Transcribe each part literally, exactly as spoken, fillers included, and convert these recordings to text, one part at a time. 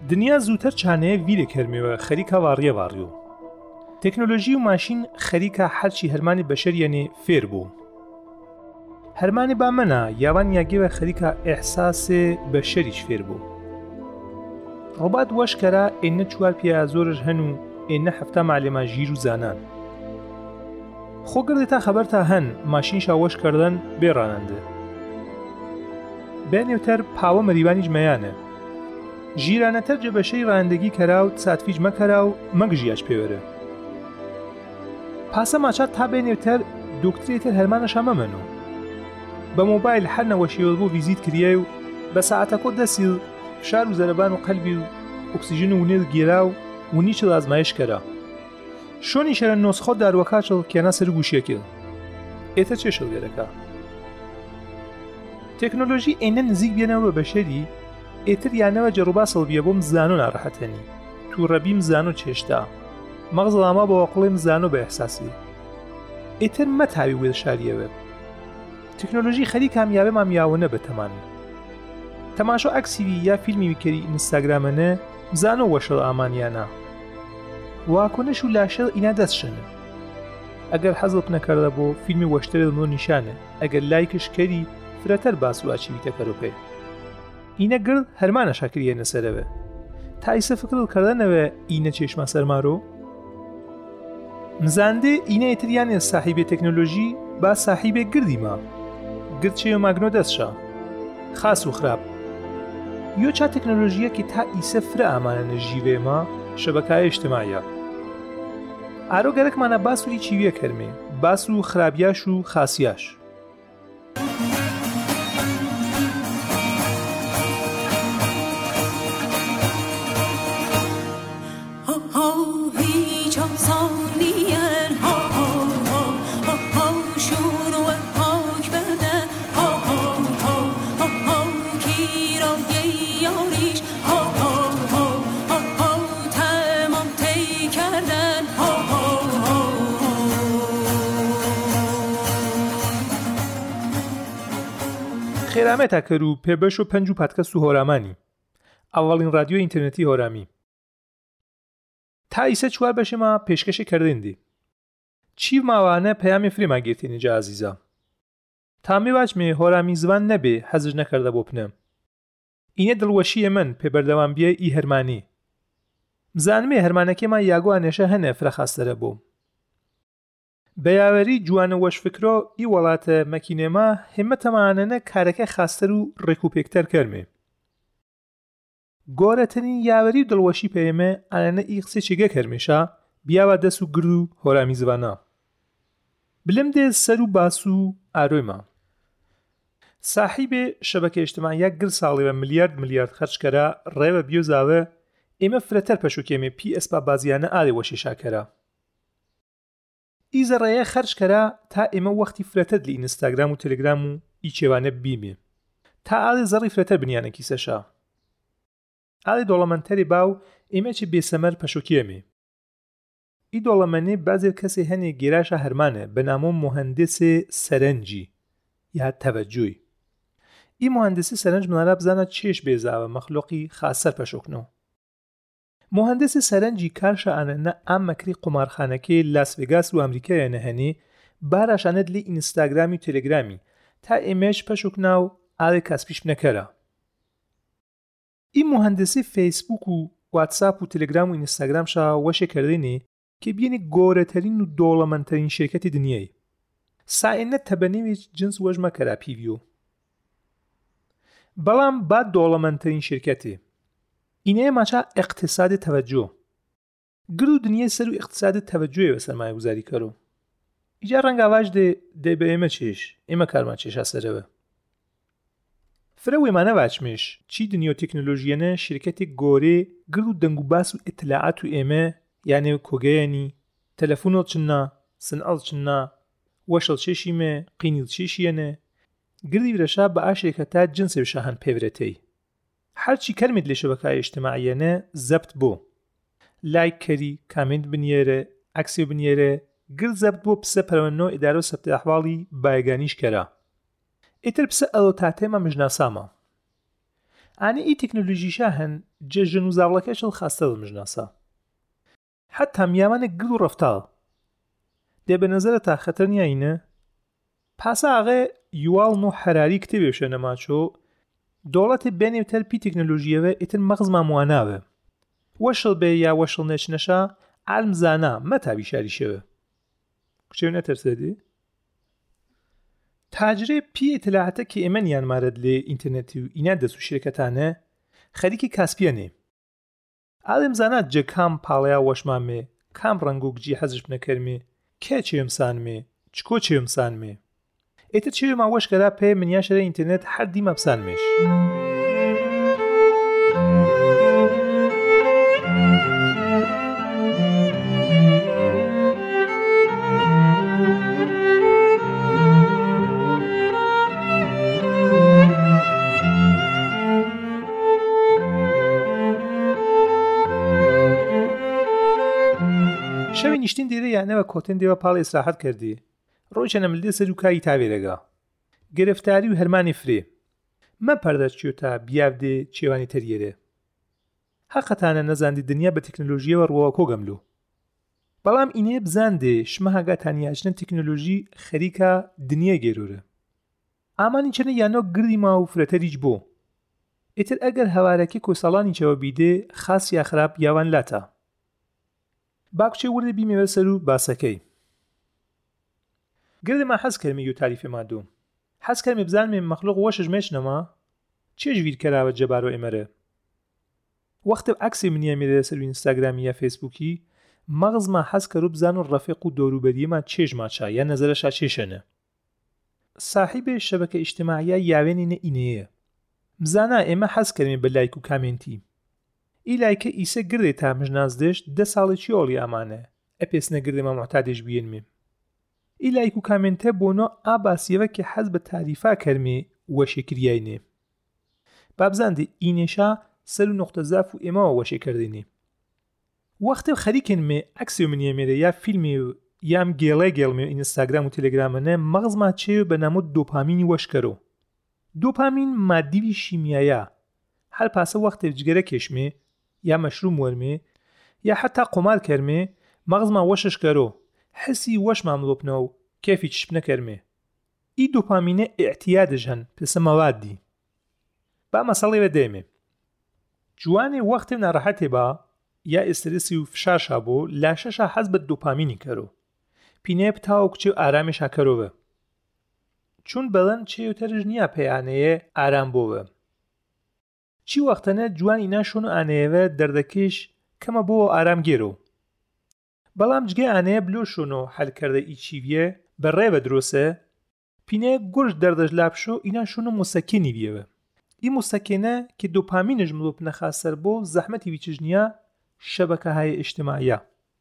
دنیا زووتر چانەیە ویرێک هەرمێوە خەریکە واڕیە واڕیۆ. تەکنۆلۆژی و ماشین خەریکە هەرچی هەرمانی بەشەریانێ فێر بوو. هەرمانی بامەنە یاوان یاگێوە خەریکە ئێحساسێ بەشەریش فێر بوو. ڕۆبات وەشکەرە ئێنە چوار پیاە زۆرش هەن و ئێنە هەفتە معلێمە ژیر و زانان. خۆگردێتە خەبەرتە هەن ماشینشا وەشکردن بێڕانەندە. بێنێوتەر پاوە مەریوانیش مەیانە. ژیرانەتەر جەبەشەی ڕاندەگی کەرا و ساتفیج مەکەرا و مەگژیاش پێوەرە. پاسە ماچات تا بێنێوتەر دۆکترێتر هەرمانەشا مەمەنۆ. بە مۆبایل هەر نەوەشیوە بۆ ڤیزیت کریە و بە ساعتەکۆ دەسیل فشار و زەرەبان و قەلبی و ئۆکسیژن و نێل گێرا و ونیچ ئازمایش کەرا. شۆنی شەرە نۆسخۆ داروەکاچڵ کێنا سەر گوشیەکە. ئێتە چێ شەڵگەرەکە؟ تەکنۆلۆژی ئێنە نزیک بێنەوە بە بەشەری ئێتر یانەوە جەڕوباسڵ بیە بۆم زانۆ ناڕەحەتەنی. تووڕەبیم زانۆ چێشتا. مەغزڵاما بە وەقڵێم زانۆ بە ئەحساسی. ئێتر مەتاوی وێ شاریەوە. تەکنۆلۆژی خەری کامیابە مامیاوەنە بەتەمانی. تەماشۆ ئەکسیوی یا فیلمی ویکەری ئینستاگرامەنە زانۆ وەشەڵ ئامانیانە. واکۆنش و لاشە ئینا دەستشەنە. ئەگەر حەزت نەکەردە بۆ فیلمی وەشترە دڵمۆ نیشانە ئەگەر لایکش کەری فرەتەر باس و ئاچیویتە کەرۆپێ. ئینە گرد هەرمانە شاکریە نەسەرەوە. تا ئیسە فکرت کردنەوە ئینە چێشمە سەرمارۆ؟ مزاندێ ئینە ئێتریانێ ساحیبێ تەکنۆلۆژی با ساحیبێ گردی ما. گرد چێ ماگنۆ دەستشە. خاس و خراپ. یۆ چا تەکنۆلۆژیەکی تا ئیسە فرە ئامانە نەژیوێمە شەبەکای ئیجتیماعیە. ئارۆ گەرەکمانە باس وری چیویە کەرمێ، باس و خراپیاش و خاسیاش. خێرامەتە کەر و پێبەش و پەنج و پادکەست و هۆرامانی ئەوڵین رادیۆ ئینترنێتی هۆرامی تا ئیسە چوار بەشێمە پێشکەشی کردێندی چی ماوانە پەیامی فریما گرتێنی جا عزیزە تامی واچمێ هۆرامی زوان نەبێ حەزش نەکردە بۆ پنەم ئینە دڵوەشیە من پێبەردەوام بیە ئی هەرمانی بزانمێ هەرمانەکێمە یاگۆ ئانێشە هەنە فرەخاستەرە بۆم بەیاوەری جوانە وەش فکرۆ ئی وڵاتە مەکینێمە هێمەتەمانەنە کارەکە خاستەر و ڕێکوپێکتەر کەرمێ گۆرەترین یاوەری و دڵوەشی پێمە ئانەنە ئی قسە چێگە کەرمێشە بیاوە دەست و گر و هۆرامی زوانە بلم دێ سەر و باس و ئارۆیمە ساحیبێ شەبەکە ئیجتیماعیە گر ساڵێوە ملیارد ملیارد خەرجکەرە ڕێوە بیۆزاوە ئێمە فرەتەر پەشوکێمێ پی ئەسپا بازیانە ئالێ وەشی شاکەرە ئیزە ڕێیە خەرجکەرە تا ئێمە وەختی فرەتەر لە ئینستاگرام و تەلگرام و ئی چێوانە بیمێ تا ئالێ زەڕی فرەتەر بنیانەکی سەشا ئالێ دۆڵەمەندتەری باو ئێمە چی بێسەمەر پەشوکێمێ ئی دۆڵەمەنێ بازێ کەسێ هەنێ گێراشە هەرمانە بە نامۆ مهندسێ سەرنجی یا تەوەجۆی ئی مهندسی سەرنج منالا بزانە چێش بێزاوە مەخلوقی خاسەر پەشوکنەوە مهندسی سەرنجی کارشە ئانەنە ئام مەکری قمارخانەکەی لاس ڤێگاس و ئەمریکایە نەهەنێ باراشانەت لێ ئینستاگرامی و تەلگرامی تا ئێمەش پەشوکنا و ئالێ کەسپیش بنەکەرە ئی مهندسی فیسبوک و واتساپ و تەلگرام و ئینستاگرامشا وەشێ کردێنێ کە بینی گۆرەترین و دۆڵەمەندترین شرکەتی دنیای سائنە تەبەنێوی جنس وەژمە کەرا پیڤیۆ بەڵام با دۆڵەمەندترین شرکەتێ اینه ماچا اقتصاد توجه گرو دنیای سر و اقتصاد توجه و سرمایه گذاری کرو ایجا رنگ آواج ده ده به ایمه چیش ایمه کرما چیش اثره و فروی منه واچمش چی دنیا تکنولوژیانه شرکت گوره گرو دنگو باس و اطلاعات و ایمه یعنی کوگیانی تلفونات چنا سنال چنا وشل چشیمه قینیل چشیانه گردی برشا با شرکتات جنس بشهن پیورتی هرچی کلمت لی شبکه‌های اجتماعی نه ضبط بو لایک کری کامنت بنیاره عکسی بنیاره گل ضبط بو پسه پرونو اداره ثبت احوالی بایگانیش کرا اتر پسه الوتاته ما مجناساما ئانی ئی تەکنۆلۆژیشە هەن جەژن و زاوڵەکەشڵ خاستە دڵمژناسە حتا میامانە گڵ و ڕەفتاڵ دێ بە نەزەرە تا خەتەر نیاینە پاسە ئاغێ یوواڵ و حەراری کتێبێشە نەماچۆ دۆڵەتێ بێنێتەر پی تەکنۆلۆژیەوە ئیتر مەغز مامواناوە وەشڵ بێ یا وەشڵ نێچنەشا عالم زانا مەتابی شاریشەوە کچێو نەتەرسێدی تاجرێ پی ئیتلاعاتە کە ئێمە نیانمارەت لێ ئینتەرنێتی و ئینا دەست و شرکەتانە خەریکی کاسپیانێ عالم زانا جە کام پاڵەیا وەشمامێ کام ڕەنگ و گجی حەزش بنەکەرمێ کێ چێمسانمێ چکۆ چێمسانمێ ئێتر چێوێ ماوەشکەرا پێ منیاشەرە ئینتەرنێت هەر دیمە بسانمێش شەوی نیشتین دیرە یانەوە کۆتن دێوە پاڵ ئێسراحەت کردی ڕۆیچەنە ملدێ سەر و کاری تاوێرەگا گرفتاری و هەرمانی فرێ مە پەردەچیۆ تا بیاودێ چێوانی تەریێرێ حەقەتانە نەزاندی دنیا بە تەکنۆلۆژیەوە ڕووە کۆگەملو بەڵام ئینێ بزاندێ شمە هاگاتانیاژنە تەکنۆلۆژی خەریکە دنیا گێرورە ئامانی چەنە یانۆ گردی ما و فرەتەریج بۆ ئیتر ئەگەر هەوارەکە کۆسەڵانی چەوە بیدێ خاص یا خراپ یاوان لاتە باکچێ وردە بیمێوە سەر و باسەکەی گردما حەز کەرمی و تاریفێ مادوم حەز کەرمی بزانمێ مەخلوق وەشش مێشنەما چێژ ویر کەراوە جەبارۆ ئێمەرە وەختە عەکسی منیە میرە سەر ئینستاگرامی یا فێسبووکی مەغزما حەز کەرو بزان و ڕەفیق و دۆروبەریەما چێژ ماچا یا نەزەرەشا چێشەنە صاحبێ شەبەکە ئیجتیماعیە یاوێنینە ئینەیە بزانا ئێمە حەز کەرمی بە لایک و کامنتی ئی لایکە ئیسە گردێ تا مژنازدەش دە ساڵێکی ئۆڵی ئامانە ئەپێسنە گردێمە معتادێش بێنمێ ئی لایک و کامنتە بۆنۆ ئاباسیەوە کە حەز بە تاریفا کەرمێ وەشێکریاینێ بابزاندی ئینێشا سەر و نقطە زاف و ئێمەوە وەشێکردێنێ وەختە خەریکن مێ عەکسی منیە مێرە یا فیلمی و یام گێڵێ گێڵمێ ئینستاگرام و تەلێگرامەنە مەغزما چێ بە نامۆ دۆپامینی وەشکەرۆ دۆپامین مادیوی شیمیایە هەر پاسە وەختێ جگەرە کێشمێ یا مەشروم وەرمێ یا حتا قۆمار کەرمێ مەغزما وەششکەرۆ حسی وەش ماملۆپنەوە و کێفی چشپ نەکەرمێ ئی دۆپامینە ئیعتیادش هەن پێسە مەوادی با مەسەڵێوە دێمێ جوانێ وەختێ ناڕەحەتێ با یا ئێسترسی و فشارشا بۆ لاشەشا حەز بە دۆپامینی کەرۆ پینێ پتاوە کچێ و ئارامێشا کەرۆوە چون بەڵەن چێوتەرژ نییە پەیانەیە ئارام بۆوە چی وەختەنە جوان ئینا شۆن و ئانەیەوە دەردەکەش کەمە بۆ ئارام گێرۆ بەڵام جگە ئانەیە بلۆ شۆن و حەلکەردە ئیچیویە بەڕێ بە درۆسە پینەیە گۆشت دەردەش لابشۆ ئینا شۆن و موسەکێنی بیەوە ئی موسەکێنە کە دۆپامینش ملۆپ نەخاسەر بۆ زەحمەتی ویچژنیە شەبەکەهای ئیجتیماعیە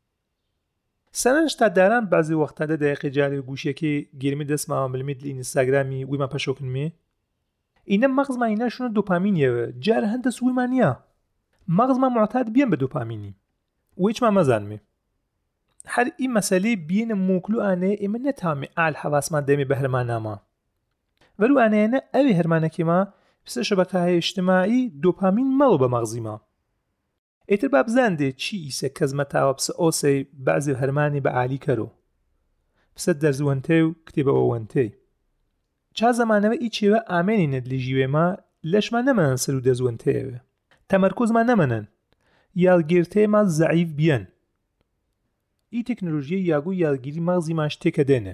سەرنج تا داران بەعزی وەختەدە دەیەقی جارێ و گوشێکی گیرمی دەستماوە ملمیت لە ئینستاگرامی ویما پەشۆکنمێ ئینە مەغزما ئینا شۆنە دۆپامینیەوە جارە هەندە سوورمانیە مەغزما معتاد بیان بە دۆپامینی ویچما مەزانمێ هەر ئی مەسەلەی بینە موکلو ئانەیە ئێمە نەتامێ ئال حەواسمان دەمێ بە هەرمانامە وەرو ئانەیەنە ئەوێ هەرمانەکێما پسە شەبەکەهای ئیجتیماعی دۆپامین مەڵۆ بە مەغزیما ئیتر با بزاندێ چی ئیسە کەزمەتاوە پسە ئۆسەی بەعزی هەرمانی بە عالی کەرۆ پسە دەرزوەنتێ و کتێبەوە وەنتێ چا زەمانەوە ئی چێوە ئامێنینت لە ژیوێما لەشما نەمەنن سەر و دەزوەنتەیەوە تەمەرکۆزمان نەمەنن یاڵگیرتەیەما زەعیف بیەن ئی تەکنۆلۆژیە یاگو یاڵگیری مەغزی ماش تێکە دێنێ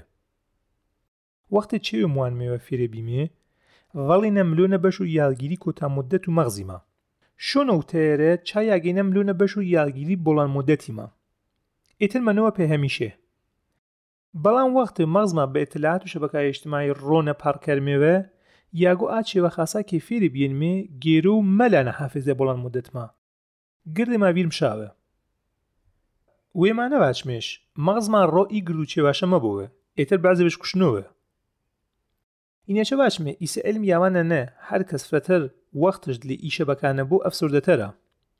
وەختە چێوە موانمێوە فێرە بیمێ ڤەڵینە ملۆنە بەش و یاڵگیری کۆتا مودەت و مەغزیما شۆنە و تەیەرە چا یاگەینە ملۆنە بەش و یاڵگیری بۆڵان مودەتیما ئیتر منەوە پێ هەمیشێ بەڵام وەختە مەغزما بە ئیتلاعات و شەبەکەهای ئیجتیماعی ڕۆنە پارکەرمێوە یاگۆ ئاچێوە خاسا کە فێری بێنمێ گێرە و مەلانە حافزە بۆڵان مودەتما گردێ ماویر مشاوە وێمانە باچمێش مەغزما ڕۆ ئی گرد و چێواشە مەبۆوە ئیتر بەعزێ بەش کوشنەوە ئینەچە باشمێ ئیسە علم یاوانە نە هەر کەس فرەتەر وەختش دلی ئی شەبەکانە بۆ ئەفسوردەتەرە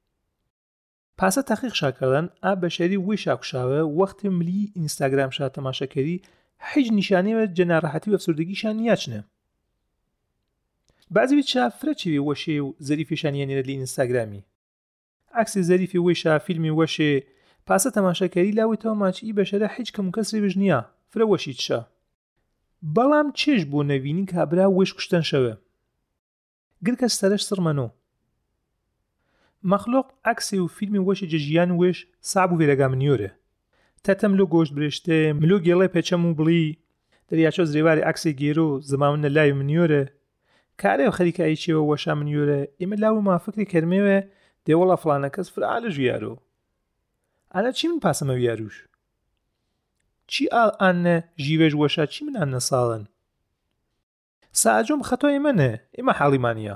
پاسە تەحقیق شاکردن ئا بەشەری وی شاکوشاوە وەختی ملی ئینستاگرام شا تەماشەکەری هیچ نیشانەیەوە جە ناڕەحەتی و ئەفسوردەگیشان نیاچنە بعضی ویچا فرەچی وەشێ و زەریفیشانیانێنێت لە ئینستاگرامی عکسی زەریفی وێشە فیلمی وەشێ پاسە تەماشاکەری لاوێتەوە ماچی بەشەرە هیچ کەم و کەسری بژ نییە فرە وەشی چشە بەڵام چێش بۆ نەوینی کابرا وێش کوشتن شەوە گرکە سەرش سڕمەنۆ مەخلوق عکسی و فیلمی وەشی جەژیان وێش ساب و وێرەگا منیۆرە تەتەم لۆ گۆشت برێشتێ ملۆ گێڵێ پێچەم و بڵی دەریاچۆ زرێواری عکسی گێرۆ زەماونە لای منیۆرە کارێ و خەریکایی چێوە وەشا منیۆرە ئێمە لاو مافکری کەرمێوە دێوەڵە فڵانە کەس فرعالە ژویارۆ ئەنە چی من پاسەمە ویاروش چی ئال ئانە ژیوێژ وەشا چی من ئانە ساڵن ساجۆم خەتۆ ئێمەنە ئێمە حاڵیمانە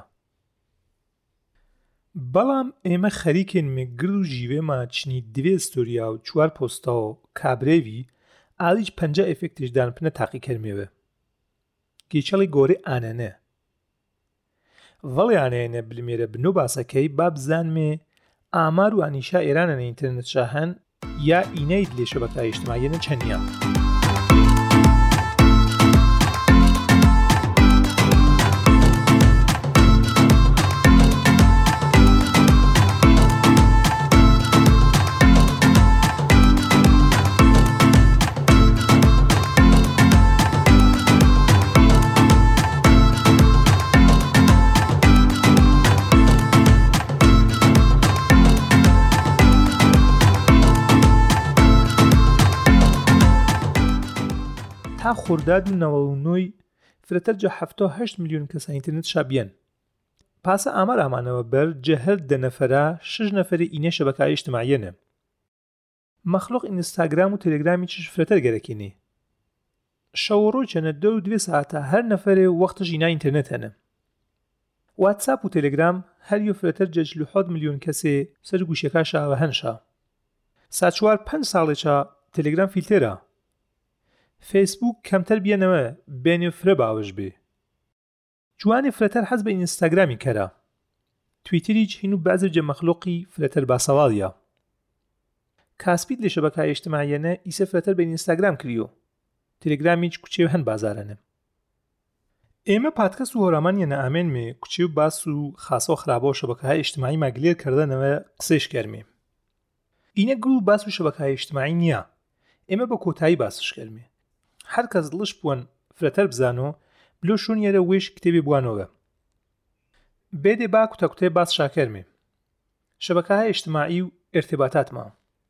بەڵام ئێمە خەریکێن مێگر و ژیوێمە چنی دوێ ستۆریا و چوار پۆستە و کابرێوی ئالیج پەنجە ئێفێکتیشدان پنە تاقی کەرمێوە گێچەڵی گۆرێ ئانەنە ڤەڵیانەیەنە بلمێرە بنۆ باسەکەی با بزانمێ ئامار و ئانیشا ئێرانەنە ئینترنێت شاهەن یا ئینەیت لێ شەبەکەی ئیجتیماعیەنە چەندە تا خۆرداد و نەوەڵونۆی فرەتەر جە هەفتە و هەشت میلیۆن کەسە ئینترنێت شابیان پاسە ئامار ئامانەوە بەر جەهەر دە نەفەرە شش نەفەری ئینە شەبەکەی ئیجتیماعیەنە مەخلوق ئینستاگرام و تەلێگرامی چش فرەتەر گەرەکێنێ شەوڕۆ چەنە دە و دوێ ساعتە هەر نەفەرێ وەختە ژینا ئینترنێت هەنە واتساپ و تەلێگرام هەریۆ فرەتەر جە چل و حەوت میلیۆن کەسێ سەر گوشەکە شاوە هەنشا ساچوار پەنج ساڵێکە تەلێگرام فیلتێرە فیسبوک کەمتەر بیانەوە بێنێ فرە باوەش بێ جوانی فرەتەر حەز بە ئینستاگرامی کەرە تویتریج هین و بەعزێ جە مەخلوقی فرەتەر باسەواڵیە کاسپید لە شەبەکەی ئیجتیماعیەنە ئیسە فرەتەر بە ئینستاگرام کریۆ تەلێگرامیج کوچێ هەن بازارەنە ئێمە پادکەست و هۆرامانیەنە ئامێنمێ کوچێ و باس و خاسە و خراپە و شەبەکەهای ئیجتیماعی ماگلێر کردنەوە قسەیش کەرمێ ئینە گرو و باس و شەبەکەهای ئیجتیماعی نییە ئێمە بە کۆتایی باسش کەرمێ هەر کەس دڵش بوون فرەتەر بزانۆ بلۆ شوونیەرە وێش کتێبی بوانەوە بێدێ با کوتەکوتێ باس شاکەرمێ شەبەکەهای ئیجتیماعی و ئێرتێباتاتمە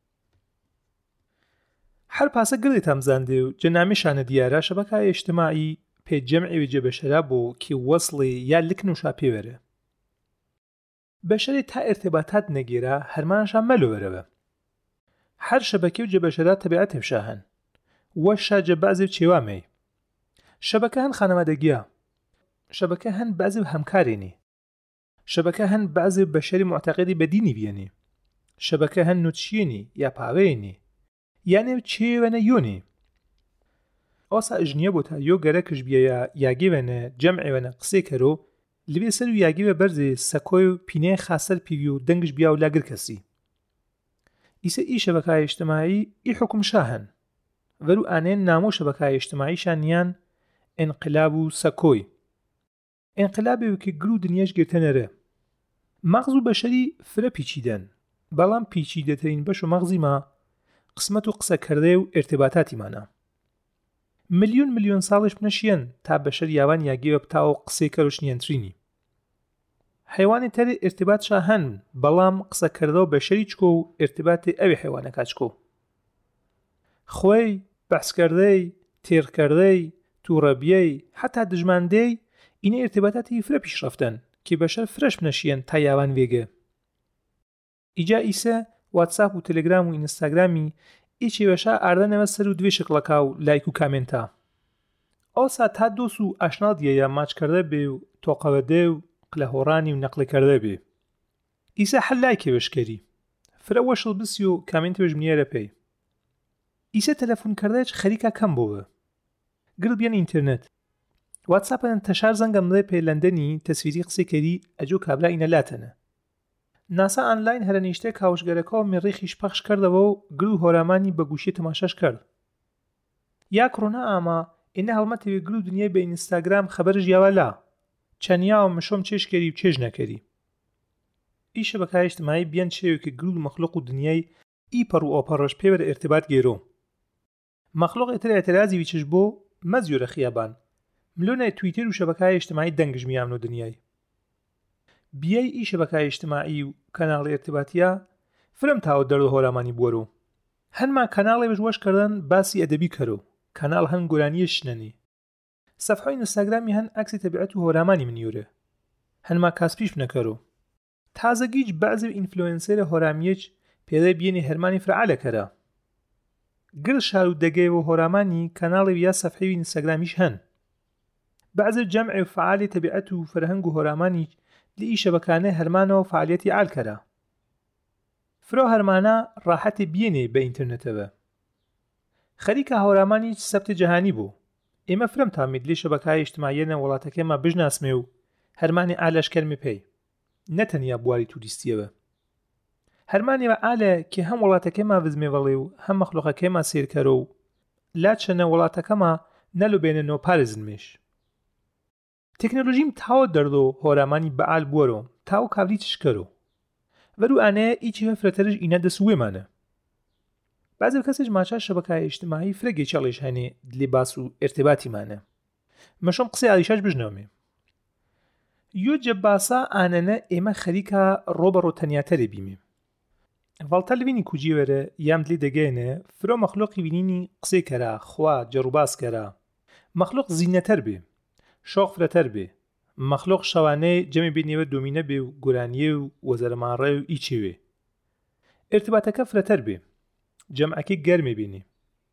هەر پاسە گڵێت هەمزاندێ و جەنامیشانە دیارە شەبەکەهای ئیجتیماعی پێجەمعی جێ بەشەرا بۆ کی وەصڵێ یا لکن و شاپێوەرە بەشەرێ تا ئێرتێباتات نەگێرە هەرمانشان مەلۆوەرەوە هەر شەبەکە و جێبەشەرا تەبیعەت هێفشاهن وەشا جە بەعزێ و چێوامەی شەبەکە هەن خانەوادەگیە شەبەکە هەن بەعزێ و هەمکارێنی شەبەکە هەن بەعزێ بەشەری معتەقیدی بەدینی بیێنی شەبەکە هەن نوتشیێنی یا پاوێنی یانێ چێوەنە یۆنی ئۆسا ئژنیە بۆ تا یۆ گەرەکش بیە یاگێوەنە جەمعێوەنە قسێ کەرۆ لەبێ سەر و یاگێوە بەرزێ سەکۆی و پینەیە خاسەر پیوی و دەنگش بیا و لاگر کەسی ئیسە ئی شەبەکەهای ئیجتیماعی ئی حکم شاهن وەرو ئانێن نامۆ شەبەکەهای ئیجتیماعیشانیان ئینقلاب و سەکۆی ئینقلابێ وکە گرو دنیاش گرتەنەرە مەغز و بەشەری فرە پیچیدەن بەڵام پیچیدەترین بەش و مەغزیما قسمەت و قسەکردێ و ئێرتێباتاتیمانە ملیۆن ملیۆن ساڵش بنەشیەن تا بەشەر یاوان یاگێوە بتاوە قسەی کەرۆشنیەنترینی حیوانی تەری ئێرتێبات شاهەن بەڵام قسەکردە و بەشەری چکۆ و ئێرتێباتی ئەوێ حیوانەکە چکۆ خۆی بەحسکردەی تێڕکردەی تووڕەبیەی حتا دژماندەی ئینە ئێرتێباتاتی فرە پیشڕەفتەن کی بەشەر فرەش بنەشیەن تا یاوان وێگە ئیجا ئیسە واتساپ و تەلێگرام و ئینستاگرامی ئیچی بەشا ئاردەنەوە سەر و دوێ شکڵەکە و لایک و کامێنتە ئەوسا تا دۆس و ئاشنا دیە یا ماچکردە بێ و تۆقەوەدێ و قلەهۆڕانی و نەقلەکردە بێ ئیسە هەر لایکێ بەشکەری فرە وەشڵ بسی و کامێنتی بەژمنیێرە پێی ئیسە تەلەفۆنکردەیەک خەریکە کەم بۆوە گرڵ بیان ئینترنێت واتساپەن تەشار زەنگە مڵێ پێلەندەنی تەسویری قسەکەری ئەجۆ کابرا ئینە لاتەنە ناسا ئانلاین هەرە نیشتێک کاوشگەرەکەەوە مێڕێخیش پەخش کردەوە و گر و هۆرامانی بە گوشی تەماشاش کرد یا کڕۆنا ئاما ئینە هەڵمەتەوێ گر و دنیای بە ئینستاگرام خەبەرش یاوە لا چەنیا و مشۆم چێشکەری و چێژ نەکەری. ئی شەبەکای اجتماعی بیان شێوێکی گرول مەخلوق و دنیای ئیپەڕ و ئۆپەڕۆژ پێوەرە ارتباط گێرۆ. مەخلوق ئێتر اعترازی ویچش بۆ مەزیۆرە خیابان ملۆنای تویتر و شەبەکای اجتماعی دەنگژمیان و دنیای. بیای ئی شەبەکای اجتماعی و کەناڵی ارتباطیە فرم تاوە دەرد و هۆرامانی بوەرۆ. هەنما کەناڵێ بژوەش کردن باسی ئەدەبی کەرۆ. کەناڵ هەن گۆرانیە شنەنی. صفحەی ئینستاگرامی هەن ئەکسی تەبیعەت و هۆرامانی منیورە. هەنما کاسپیش بنەکەرۆ. تازەگیج بەعزێ ئینفلوئنسەرە هۆرامیەج پێدەی بێنی هەرمانی فرعالە کەرە. گرل شار و دەگەی و هۆرامانی کەناڵی یا صفحەی ئینستاگرامیش هەن. بەعزێ جەمع و فعالی تەبیعەت و فەرهەنگ و هۆرامانی لئی شەبەکانە هەرمانەوە فعالیەتی عال کەرە. فرۆ هەرمانە ڕاحەتی بێنێ بە ئینترنێتەوە. خەریکە هەورامانی سەبتی جەهانی بوو. ئێمە فرم تامید لێ شەبەکای اجتماعیەنە وڵاتەکەمە بژناسمێ و هەرمانی ئالەشکەرمی پێی. نەتەنیا بواری توریستیەوە. هەرمانیەوە ئالە کە هەم وڵاتەکەمە وزمێوەڵێ و هەم مەخلوقەکەمە سێرکەرە و لاچەنە وڵاتەکەمە نەلوبێنەوە پارێزنمێش. تەکنۆلۆژیم تاوە دەردۆ هۆرامانی بەعال بووەرۆ تاو کابلی تشکەرۆ. وەرو ئانەیە ئیچی هەفرەتەرش ئینە دەسوێمانە. بعضی کەسێک ماچە شەبەکای اجتماعی فرەگی چاڵێش هەنێ دلێ باس و ارتباطیمانە. مەشۆم قسەی ئالیشاش بژنەومێ. یۆ جەباسا ئانەنە ئێمە خەریکە ڕۆبەڕۆ تەنیاتەرێ بیمێ. ڤاڵتە لڤینی کوجیوەرە یام دلێ دەگەێنە فرۆ مەخلوقی بینینی قسەی کەرا خوا جەڕوباس کەرا. مەخلوق زینەتەر بێ. شۆق فرەتەر بێ. مەخلوق شەوانەی جەمی بینێوە دۆمینە بێ و گۆرانیە و وەزەرماڕێ و ئیچێوێ. ارتباطەکە فرەتەر بێ. جەمعەکەی گەرمێ بینی.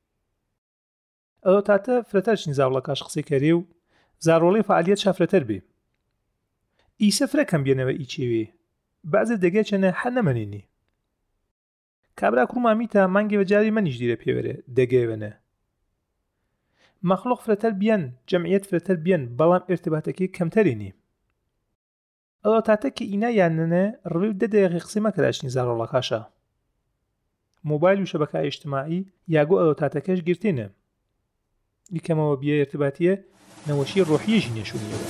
ئەوە تاتە فرەتەرشین زاوڵەکەش قسەی کەرێ و زارۆڵی فعالیەت شافرەتەر بێ. ئیسە فرەکەم بێنەوە ئیچێوێ. بەعزێ دەگە چەنە هەر نەمەنێنی. کابرا کوڕمامیتە مانگێوە جاری منیش دیرە پێوەرە دەگەوێنە. مەخلوق فرەتەر بیان جەمعیەت فرەتەر بیان بەڵام ارتباطەکەی کەمتەرێنی. ئەوە تاتە کە ئینا یاننە ڕوی دە دەیەقی قسەی مەکەراشنی زارۆڵەکاشە. موبایل و شەبەکای اجتماعی یاگۆ ئەوە تاتەکەش گرتێنە. یکەمەوە بیە ارتباطیە نەوەشی ڕۆحیەژی نێشونیەوە.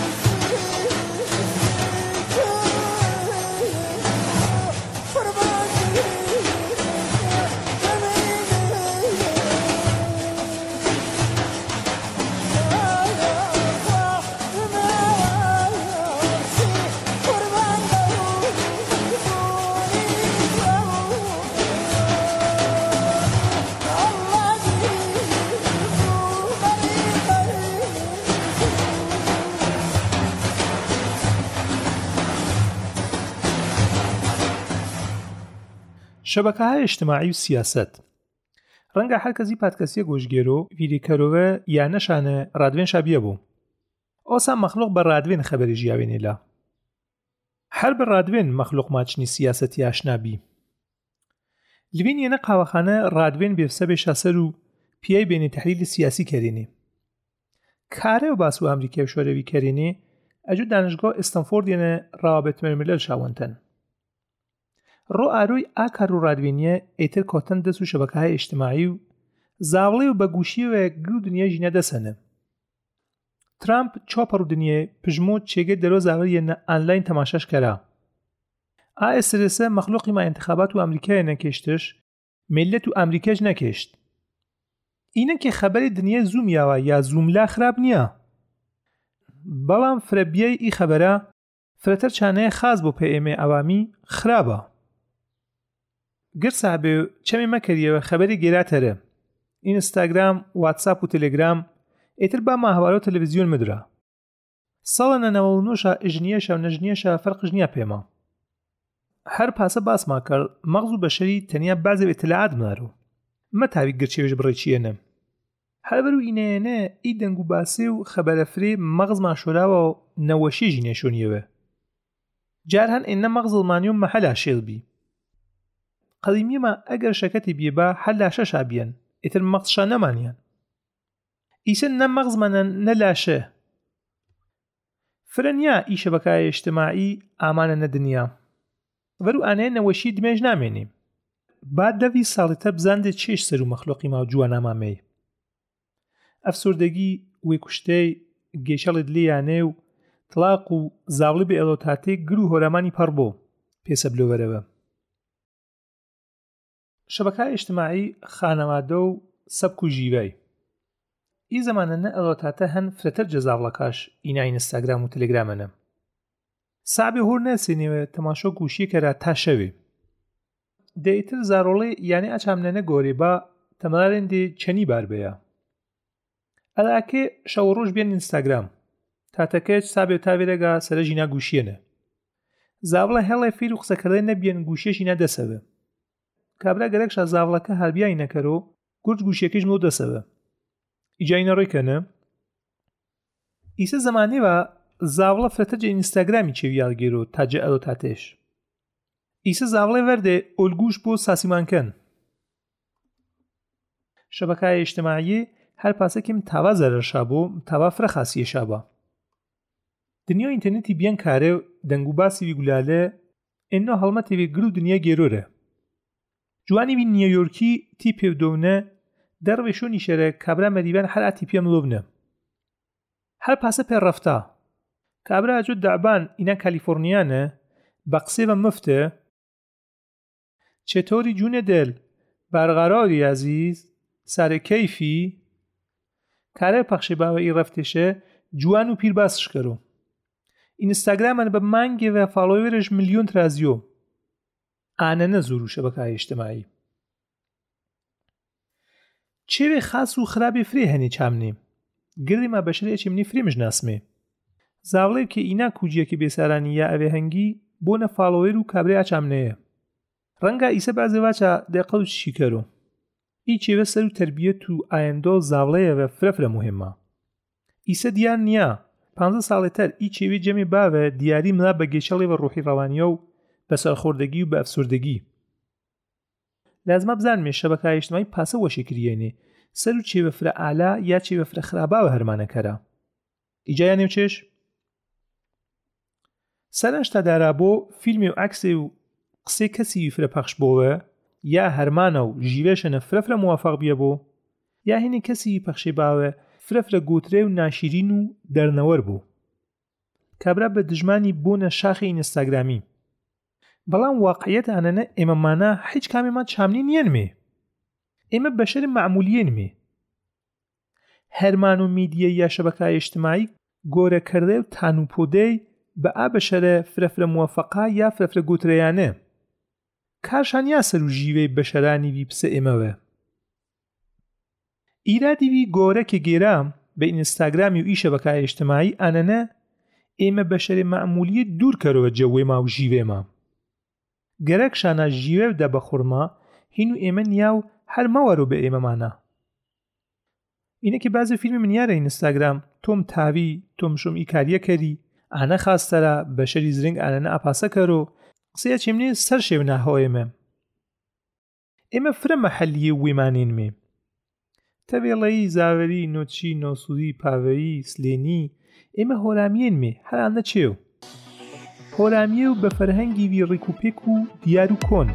شەبەکەهای اجتماعی و سیاست ڕەنگە هەر کەسی پادکەسیە گۆشگێرۆ ویدیکەرۆوە یان نەشانە ڕادوێن شابیە بوو. ئۆسا مەخلوق بە ڕادوێن خەبەری ژیاوێنێلا. هەر بە ڕادوێن مەخلوق ماچنی سیاسەتی ئاشنابی. لڤینیەنە قاوەخانە ڕادوێن بێفسە بێشە سەر و پیای بێنێ تەحلیلی سیاسی کەرێنێ. کارە و باس و ئەمریکای شۆرەوی کەرێنێ ئەجو دانشگاه ئستەنفۆردێنە ڕاوابێت مەرملەل شاوەنتەن. ڕۆ ئاروی ئاکار و ڕادوێنیە ئێتر کۆتەن دەست و شەبەکەهای اجتماعی و زاوڵێ و بەگوشیەوە گر و دنیا ژینە دەسەنە. ترامپ چۆپەڕ و دنیە پژمۆ چێگە دەرۆ زاوەریەنە ئانلاین تەماشەش کەرا. ئاسرسە مەخلوقی ما انتخابات و ئەمریکایە نەکێشتش ملت و ئەمریکاش نەکێشت. ئینە کە خەبەری دنیا زوومیاوە یا زووملا خراپ نییە. بەڵام فرەبیای ئی خەبەرە فرەتەر چانەیە خاز بۆ پێ ئێم ئێ ئەوامی خراپە. گرسا بێ چەمێ مەکەریەوە خەبەری گێراتەرە. ئینستاگرام، واتساپ و تەلێگرام ئێتر با ماهوارە و تەلەڤیزیۆن مدرا. ساڵە نەنەوە و نۆشە ئژنیەشە و نەژنیەشە فەرقش نییە پێمە. هەر پاسە باسما کرد مەغز و بەشەری تەنیا بازێ ئیتلاعات مارۆ. مە تاوی گرچێوێش بڕێکیێنە. هەربەر و ئینەیەنە ئی دەنگ و باسێ و خەبەرەفرێ مەغز ماشۆراوە و نەوەشیژی نێشۆنیەوە. جار هەن ئێنە مەغز ئڵمانی و مەحەلا شێڵبی. قەدیمیەمە ئەگەر شەکەتی بێبا هەلاشە شابیەن ئێتر مەغزشا نەمانیان. ئیسە نە مەغزمانە نە لاشە. فرەنیا ئی شەبەکای اجتماعی ئامانە نە دنیا. وەرو ئانەیە نەوەشی دمێژ نامێنێ. با دەوی ساڵیتە بزاندێ چێش سەر و مەخلوقی ما و جوانامامەی. ئەفسوردەگی وێ کوشتەی گێشەڵی دلیانێ و تڵاق و زاوڵی بە ئێڵۆتاتێ گر و هۆرەمانی پەڕ بۆ پێسە بلۆوەرەوە. شەبەکەی ئیجتیماعی خانەوادە و سەبک و ژیوەی ئی زەمانەنە ئێڵۆتاتە هەن فرەتەر جەزاوڵەکاش ئینا ئینستاگرام و تەلێگرامەنە. سابێ هۆر نەسێنێوە تەماشۆ گوشیەکەرا تا شەوێ. دەیتر زارۆڵێ یانێ ئەچامنەنە گۆرێ با تەمەلارێن دێ چەنی بار بەیە. ئەلاکێ شەو ڕۆژ بێن ئینستاگرام. تاتەکەچ سابێ تاوێرەگا سەرە ژینا گوشیێنە. زاوڵە هەڵێ فیر و قسەکردن نەبیێن گوشیەشی نەدەسەوە. کابرا گەرەکشە زاوڵەکە هەربیای نەکەرۆ گورج گوشیەکەش مۆ دەسەوە. ئیجاینە ڕێکەنە. ئیسە زەمانێ بە زاوڵە فرەتەرجە ئینستاگرامی چێویاڵگێرۆ تاجە ئەڵۆتاتێش. ئیسە زاوڵێ وەردێ ئۆلگوش بۆ ساسیمانکەن. شەبەکای ئیجتیماعی هەر پاسەکیم تاوا زەرەرشا بۆ تاوا فرە خاسیەشا بە. دنیا ئینتەرنێتی بیان کارێ دەنگ و باسی وی گولالە ئێنۆ هەڵمەتێ وێ گر و دنیا گێرۆرە. جوانی وی نیویۆرکی تی پێودۆنە دەڕوێ شۆنی شەرە کابرا مەریبان هەر ئاتی پێم لۆبنە. هەر پاسە پێ ڕەفتا. کابرا ئەجۆ دەعبان ئینا کالیفۆرنیانە بە قسێ بە مفتە چێتۆری جونە دل بەرقەراری عەزیز سارێ کەیفی کارە پەخشێ باوە ئی ڕەفتێشە جوان و پیر باسش کەرۆ. ئینستاگرامەن بە مانگێ و فالۆوێرش ملیۆن ترازیۆ. ئانەنە زۆر و شەبەکای ئیجتیماعی. چێوێ خاص و خراپێ فرێ هەنێ چامنێ. گردی ما بەشرێ ئەچێمنی فرێمش ناسمێ. زاوڵێ کە ئینا کوجیەکە بێسارانی یا ئەوێ هەنگی بۆنە فالۆوێر و کابرای ئاچامنەیە. ڕەنگە ئیسە بەعزێ واچە دەقەڵ و چی کەرۆ. ئی چێوە سەر و تەربیەت و ئایەندۆ زاوڵەیە و فرەفرە مهمە. ئیسە دیار نییە. پانزە ساڵێتەر ئی چێوێ جەمێ باوە دیاری ملا بە گێشەڵێ بە ڕوحی ڕەوانیە و بە سەرخۆردەگی و بە ئەفسوردەگی. لازمە بزانمێ شەبەکای ئیجتیماعی پاسە وەشی کریێنێ سەر و چێوە فرە ئالا یا چێوە فرە خراپاوە هەرمانەکەرە. ئیجا یانێ چێش؟ سەرنجتا دارا بۆ فیلمی و عەکسێ و قسێ کەسی فرە پەخش بۆوە یا هەرمانە و ژیوێشەنە فرەفرە موافق بیە بۆ یا هینێ کەسی پەخشێ باوە فرەفرە گوترێ و ناشیرین و دەرنەوەر بوو. کابرا بە دژمانی بۆنە شاخی ئینستاگرامی. بەڵام واقعیەت ئانەنە ئێمەمانە هیچ کامێمان چامنی نیەنمێ. ئێمە بەشەر معمولیێنمێ. هەرمان و میدیە یا شەبەکای ئیجتیماعی گۆرەکردێ و تانوپۆدەی بە ئا بەشەرە فرەفرە موافقا یا فرەفرە گوترەیانە. کارشان یا سەر و ژیوەی بەشەرانی وی پسە ئێمەوە. ئیرادی وی گۆرەکە گێرام بە ئینستاگرامی و ئی شەبەکای ئیجتیماعی ئانەنە ئێمە بەشەرێ معمولیە دوور کەرەوە جەوێما و ژیوێما. گەرەکشانە ژیوێ و دە بەخورما هین و ئێمە نیا و هەر مەوەرۆ بە ئێمەمانە. ئینەکی بازە فیلمی منیارە ئینستاگرام تۆم تاوی تۆم شۆم ئی کاریە کەری ئانە خاستەرە بەشەری زرنگ ئانەنە ئاپاسە کەرۆ قسەیە چێمنێ سەر شێو ناهۆیمە. ئێمە فرە مەحەلیە وێمانێنمێ. تەوێڵەیی زاوەری نۆچی نۆسوودی پاوەیی سلێنی ئێمە هۆرامیێنمێ هەرانە چێو. هۆرامیە و بە فەرهەنگی وی ڕێک و پێک و دیار و کۆن.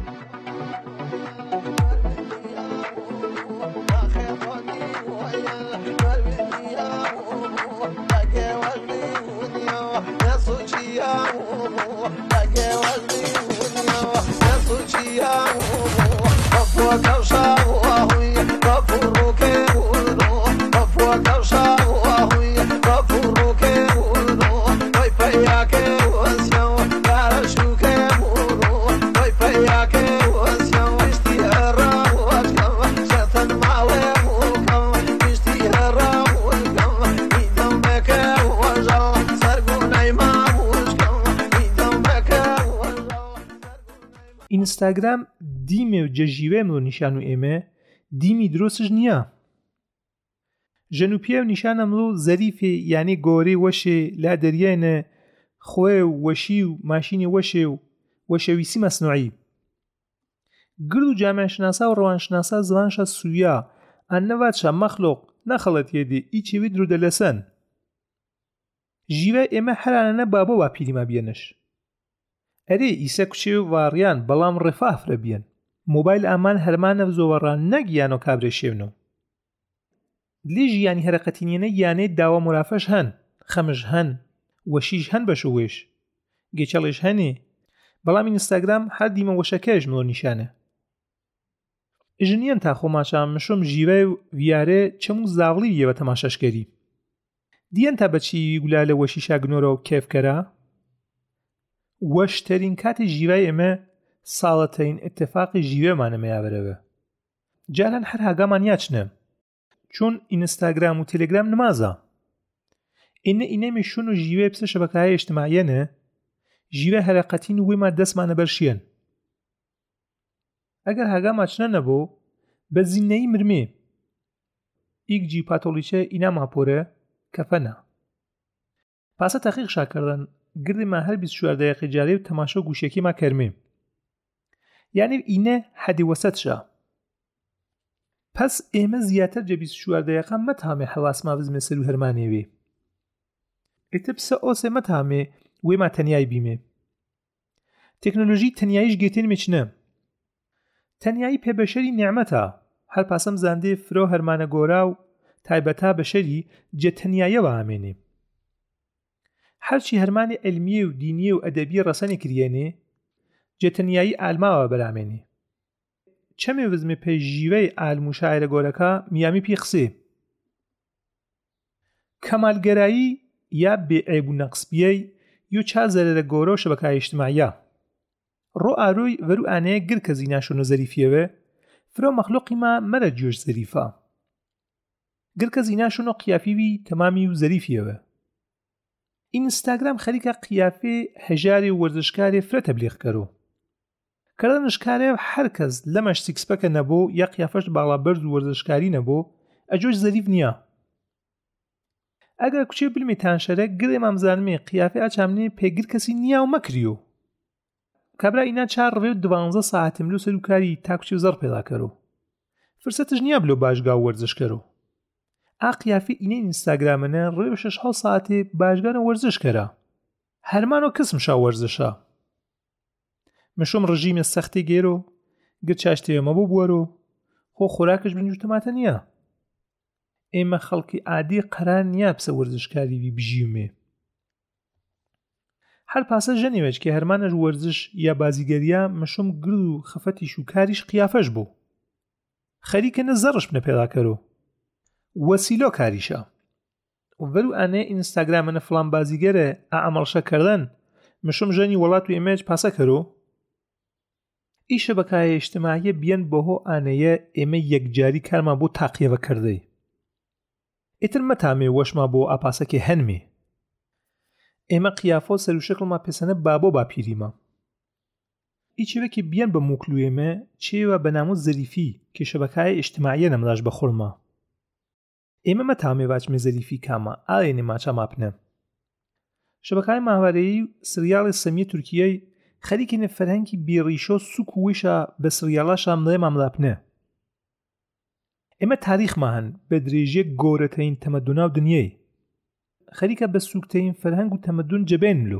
ئینستاگرام دیمێ و جەژیوێ ملۆ نیشان و ئێمە دیمی درۆسش نییە. ژەنوپیە و نیشانە ملۆ زەریفێ یانێ گۆرەی وەشێ لا دەریانە خوێ و وەشی و ماشینی وەشێ و وەشەویسی مەسنوعی. گرد و جامعشناسا و ڕەوانشناسا زوانشە سوویا ئەنەواتشە مەخلۆق نەخەڵەت هێدێ ئی چێوی درودەلەسەن. ژیوە ئێمە هەرانە بابە وا پیریما بێنش. ئەرێ ئیسە کوچێ و واڕیان بەڵام ڕێفاه فرە بیەن. مۆبایل ئامان هەرمانە زۆوەڕان نەگیان و کابرێ شێونە. دلێژی یانی هەرەقەتینێنە یانێ داوە مرافەش هەن خەمش هەن وەشیش هەن بەشەوێش گێچەڵێش هەنێ بەڵام ئینستاگرام هەر دیمە وەشەکەش مۆ نیشانە ژنیان تا خۆماچام مشۆم ژیوە و ڤیارێ چەموو زاوڵی یەوە تەماشەشکەری دیەن تا بەچی گولا لە وەشیشا گنۆرە و کێفکەرە وەشترین کاتی ژیوای ئێمە ساڵەتەین اتفاقی ژیوێمانەمەیا بەرەوە جاران هەر هاگامان یاچنە چون ئینستاگرام و تێلێگرام نمازە ئینە ئینەمی شون و ژیوێ پسە شەبەکەهای ئیجتیماعیەنە ژیوە هەرەقەتین و وێما دەستمانە بەرشیەن ئەگەر هاگاما چنە نەبوو بە زینەی مرمێ ئیگجی پاتۆلیچە ئینا ماپۆرە کەفەنە پاسە تەقیق شاکردن گردی ما هەر بیست و چوار دقیقی جاری و تەماشا گوشێکی ما کەرمێ یعنی ئینە حەدی وەسەتشە پس ئێمە زیاتر جە بیست و چوار دقیقە مەتامێ حەواسما بزمێ سەر و هەرمانێوێ ئێتە پسە ئۆسێ مەتامێ وێما تەنیای بیمێ تەکنۆلۆژی تەنیاییش گێتێنمێ چنە تەنیایی پێبەشەری نیعمەتە هەر پاسەم زاندێ فرۆ هەرمانە گۆرا و تایبەتا بەشەری جە تەنیاییەوە ئامێنێ هەرچی هەرمانی علمیە و دینیە و ئەدەبیە ڕەسەنی کریێنێ جە تەنیایی ئالماوە بەرامێنێ چەمێ وزمێ پێی ژیوەی ئالم و شاعرە گۆرەکە میامی پێی قسێ کەمالگەرایی یا بێعیب و نەقسبیەی یو چا زەرەرە گۆرە و شەبەکای ئیجتیماعیە ڕۆ ئاروی وەرو ئانەیە گر کە زیناشۆنە زەریفیەوە فرۆ مەخلوقی ما مەرە جۆش زەریفە گر کە زیناشۆنە قیافیوی تەمامی و زەریفیەوە ئینستاگرام خەریکە قیافێ هەژاری و وەرزشکارێ فرە تەبلیغ کەرۆ کردنشکارێ هەر کەس لەمەش سیکسپەکە نەبوو یا قیافەش باڵا بەرز و وەرزشکاری نەبوو ئەجۆش زەریف نییە ئەگەر کوچێ بلمی تانشەرە گرێ مامزانمێ قیافێ ئاچامنێ پێگر کەسی نییە و مەکریۆ کابرا ئینا چار ڕێ و دوانزە ساعتم لۆ سەرکاری تاکوچی و زەڕ پێدا کەرۆ فرسەتش نییە بلۆ باشگا و وەرزش کەرۆ ئا قیافێ ئینە ئینستاگرامەنە ڕێ و شەش حەوت ساعتێ باشگانە وەرزش کەرە هەرمانۆ کەسمشا وەرزشە مشۆم ڕژیمە سەختی گێرۆ گر چاشتێ مەبوو بوەرۆ خۆ خۆراکش بنجوتەماتە نییە ئێمە خەڵکی عادی قەرار نییە پسە وەرزشکاریوی بژیومێ هەر پاسە ژەنێوەچ کە هەرمانەش وەرزش یا بازیگەریە مشۆم گرد و خەفەتیش و کاریش قیافەش بوو خەریکەنە زەڕش بنە پێدا کەرۆ وەسیلۆ کاریشە وەرو ئانەیە ئینستاگرامەنە فڵان بازیگەرە ئەعەمەڵشە کردن مشۆم ژەنی وڵات و ئێمەش پاسە کەرۆ ئیشە بەکایە ئیجتیماعیە بیەن بەهۆ ئانەیە ئێمە یەکجاری کارمان بۆ تاقیەوە کردەی ئیتر مەتامێ وەشما بۆ ئاپاسەکێ هەنمێ ئێمە قیافۆ سەر و شکڵما پێسەنە بابۆ باپیریمە ئیچێوەکی بیەن بە موکلوێمە چێوە بە نامۆ زەریفی کە شەبەکای ئیجتیماعیە نەملاش بەخۆڵما ئێمە مەتامێ باچمێ زەریفی کامە ئاێنێ ماچە ماپنە شەبەکای ماوارەیی و سریاڵی سەمیە تورکیەی خەریکێنە فەرهەنگی بێڕیشۆ سوک و ویشە بە سریاڵاشا مڵێ ماملاپنە ئێمە تاریخما هەن بە درێژیە گۆرەترین تەمەدونا و دنیای خەریکە بە سوکتەین فەرهەنگ و تەمەدون جەبێنلو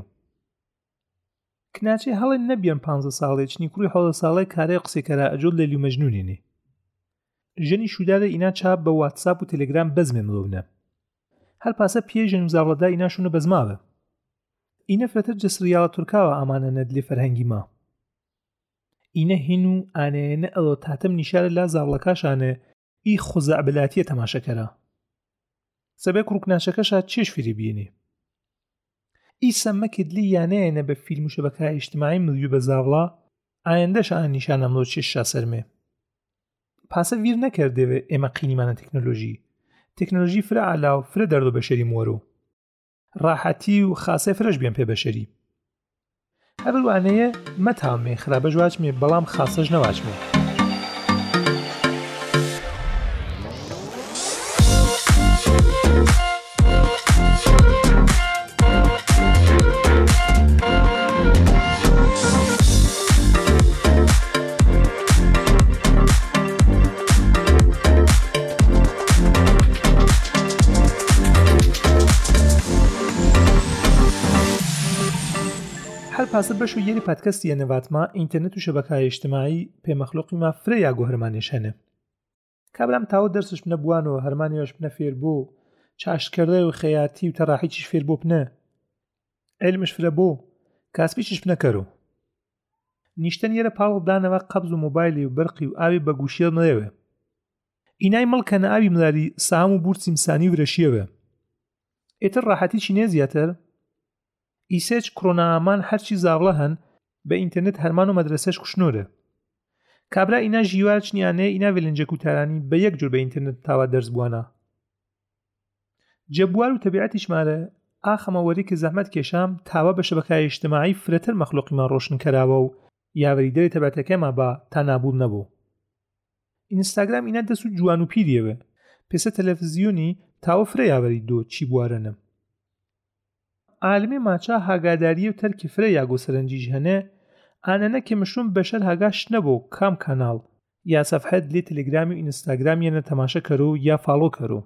کناچێ هەڵێ نەبیان پانزە ساڵێ چنی کوڕی حەوزە ساڵەی کارەی قسێکەرا ئەجۆل لەلی و مەجنونێنێ ژەنی شودارە ئینا چاپ بە واتساپ و تەلێگرام بەزمێ مڵۆونە هەر پاسە پێژن و زاوڵەدا ئیناشونە بەزماوە ئینە فرەتر جە سریاڵە تورکاوە ئامانە نەدلێ فەرهەنگی ما ئینە هین و ئانەیەنە ئەڵۆ تاتەم نیشارە لا زاوڵەکاشانە ئی خۆزەعبلاتیە تەماشەکەرە سەبێ کوڕکناشەکەشا چێش فێری بینێ ئی سەممەکردلی یانەیەنە بە فیلم و شەبەکای ئیجتیماعی ملیو بە زاوڵا ئایندەش ئان نیشانەملۆ چێششا سەرمێ پاسە ویر نەکردێوێ ئێمە قینیمانە تەکنۆلۆژی تەکنۆلۆژی فرە عەلا و فرە دەردۆ بەشەری مۆرۆ ڕاحەتی و خاسێ فرەش بێن پێ بەشەری هەبلوانەیە مەتامێ خراپەش واچمێ بەڵام خاسەش نەواچمێ پاسە بەش و یەری پادکەستی نەواتما ئینتەرنێت و شەبەکای ئیجتیماعی پێمەخلوقی ما فرە یا گۆ هەرمانێش هەنە کابرام تاوە دەرسش بنە بوانەوە هەرمانیەوەش بنە فێر بۆ چاشکردە و خەیاتی و تەڕاحیچیش فێر بۆ بنە علمش فرە بۆ کاسپیشش بنەکەرۆ نیشتە نیێرە پاڵ دانەوە قەبز و مۆبایلی و بەرقی و ئاوی بەگوشیە مڵێوێ ئینای مڵکەنە ئاوی ملاری ساهم و بورچی مسانی ورەشیەوە ئێتر ڕاحەتی چینێ زیاتر ئیسێچ کڕۆنا ئامان هەرچی زاوڵە هەن بە ئینتەرنێت هەرمان و مەدرسەش کوشنۆرە کابرا ئینا ژیوار چنیانەیە ئینا ڤێلنجە کوتارانی بە یەک جۆر بە ئینتەرنێت تاوا دەرز بووانە جەبوار و تەبیعەتیشمارە ئاخەمەوەری کە زەحمەت کێشام تاوا بە شەبەکای ئیجتیماعی فرەتر مەخلوقیمان ڕۆشن کەراوە و یاوەریدەری تەبیعەتەکەیمان بە تا نابوو نەبوو ئینستاگرام ئینا دەست و جوان و پیریەوە پێسە تەلەڤیزیۆنی تاوە فرە یاوەری دۆ چی بوارەنە عالمی ماچا هاگاداری و تەرکی فرە یاگۆ سەرنجیش هەنێ ئانەنە کە مشروم بەشەر هاگاش نەبوو کام کاناڵ یا سەفحەت لێ تەلێگرامی و ئینستاگرام یەنە تەماشە کەرۆ یا فاڵۆ کەرۆ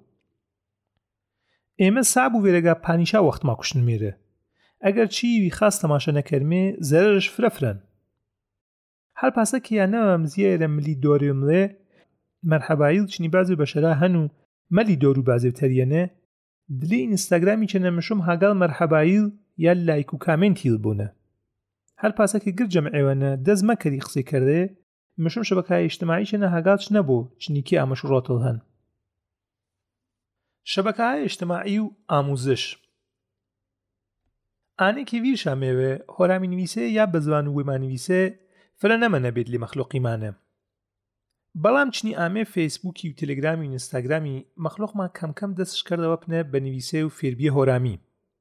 ئێمە ساب و وێرەگا پانیشا وەختما کوشتن مێرە ئەگەر چیوی خاص تەماشە نەکەرمێ زەرەرش فرە فرەن هەر پاسە کیانەوە مزیێرە ملی دۆری مڵێ مەرحەبایل چنی بازی بەشەرا هەن و مەلی دۆر و بازی تەریەنێ دلی ئینستاگرامی چەنە مشوم هاگال مەرحەبایل یا لایک و کامنتیل بوونە هەر پاسەکی گر جەمعێوەنە دەست مەکەری قسەی کردێ مشوم شەبەکای ئیجتیماعی چەنە هاگالچ نەبوو چنیکی ئامەش ڕۆتڵ هەن شەبەکەهای ئیجتیماعی و ئاموزش ئانێکی ویرشامێوێ هۆرامی نویسێ یا بە زوان و وێمان نویسێ فرە نەمەنە بێت لی مەخلوقیمانە بەڵام چنی ئامێ فەیسبووکی و تەلێگرامی و ئینستاگرامی مەخلوقمان کەم کەم دەستش کردەوە پنە بە نویسێ و فێربیە هۆرامی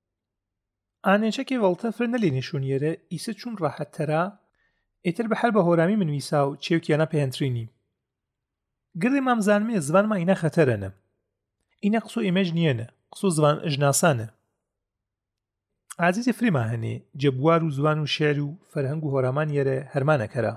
ئانێچەکێ وەڵتە فرە نەلێ نێشونیێرە ئیسە چون ڕاحەتتەرا ئێتر بە هەر بە هۆرامی منویسا و چێوکیانە پێهەنترینی گردی مامزانمێ زوانمان ئینە خەتەرەنە ئینە قسە و ئێمەش نیەنە قسە و زوان ئژناسانە عزیزی فریما هەنێ جەبوار و زوان و شێر و فەرهەنگ و هۆرامان یەرە هەرمانەکەرە